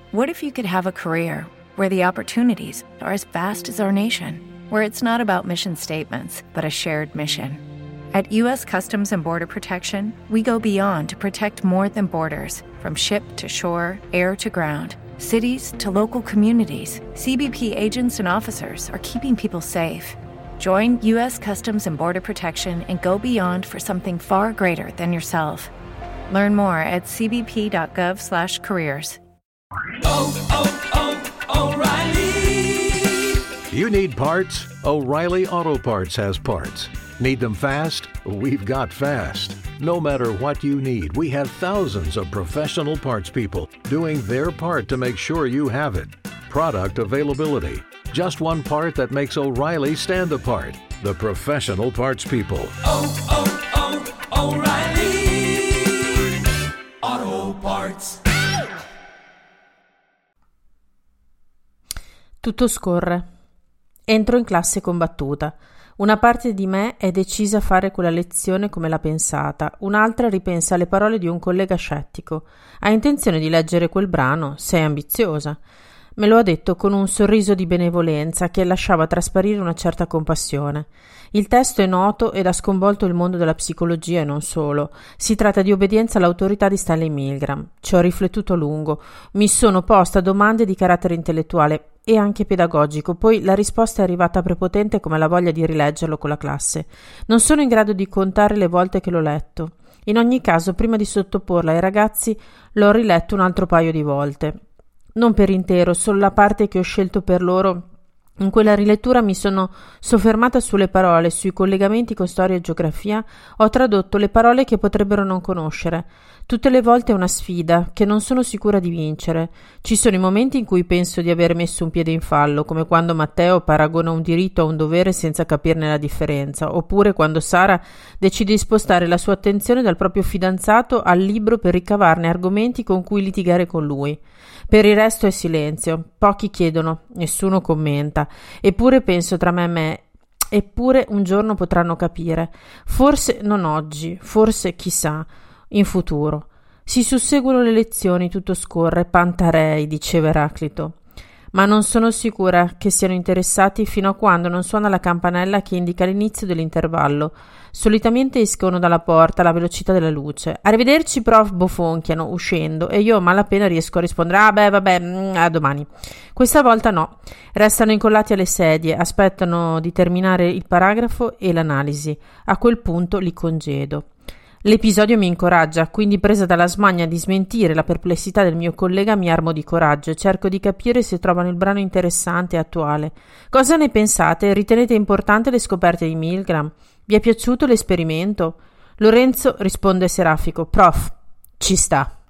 What if you could have a career where the opportunities are as vast as our nation, where it's not about mission statements, but a shared mission? At U.S. Customs and Border Protection, we go beyond to protect more than borders. From ship to shore, air to ground, cities to local communities, CBP agents and officers are keeping people safe. Join U.S. Customs and Border Protection and go beyond for something far greater than yourself. Learn more at cbp.gov/careers. O'Reilly! You need parts? O'Reilly Auto Parts has parts. Need them fast? We've got fast. No matter what you need, we have thousands of professional parts people doing their part to make sure you have it. Product availability. Just one part that makes O'Reilly stand apart. The professional parts people. O'Reilly Auto Parts. Tutto scorre. Entro in classe combattuta. Una parte di me è decisa a fare quella lezione come l'ha pensata, un'altra ripensa alle parole di un collega scettico. Hai intenzione di leggere quel brano? Sei ambiziosa. Me lo ha detto con un sorriso di benevolenza che lasciava trasparire una certa compassione. Il testo è noto ed ha sconvolto il mondo della psicologia e non solo. Si tratta di Obbedienza all'autorità di Stanley Milgram. Ci ho riflettuto a lungo. Mi sono posta domande di carattere intellettuale e anche pedagogico, poi la risposta è arrivata prepotente come la voglia di rileggerlo con la classe. Non sono in grado di contare le volte che l'ho letto. In ogni caso, prima di sottoporla ai ragazzi, l'ho riletto un altro paio di volte. Non per intero, solo la parte che ho scelto per loro. In quella rilettura mi sono soffermata sulle parole, sui collegamenti con storia e geografia, ho tradotto le parole che potrebbero non conoscere. Tutte le volte è una sfida, che non sono sicura di vincere. Ci sono i momenti in cui penso di aver messo un piede in fallo, come quando Matteo paragona un diritto a un dovere senza capirne la differenza, oppure quando Sara decide di spostare la sua attenzione dal proprio fidanzato al libro per ricavarne argomenti con cui litigare con lui. Per il resto è silenzio, pochi chiedono, nessuno commenta, eppure penso tra me e me, eppure un giorno potranno capire, forse non oggi, forse chissà, in futuro. Si susseguono le lezioni, tutto scorre, pantarei, diceva Eraclito, ma non sono sicura che siano interessati fino a quando non suona la campanella che indica l'inizio dell'intervallo. Solitamente escono dalla porta alla velocità della luce. Arrivederci, prof, bofonchiano, uscendo, e io a malapena riesco a rispondere a domani. Questa volta no. Restano incollati alle sedie, aspettano di terminare il paragrafo e l'analisi. A quel punto li congedo. L'episodio mi incoraggia, quindi presa dalla smania di smentire la perplessità del mio collega mi armo di coraggio e cerco di capire se trovano il brano interessante e attuale. Cosa ne pensate? Ritenete importante le scoperte di Milgram? Vi è piaciuto l'esperimento? Lorenzo risponde serafico: prof, ci sta.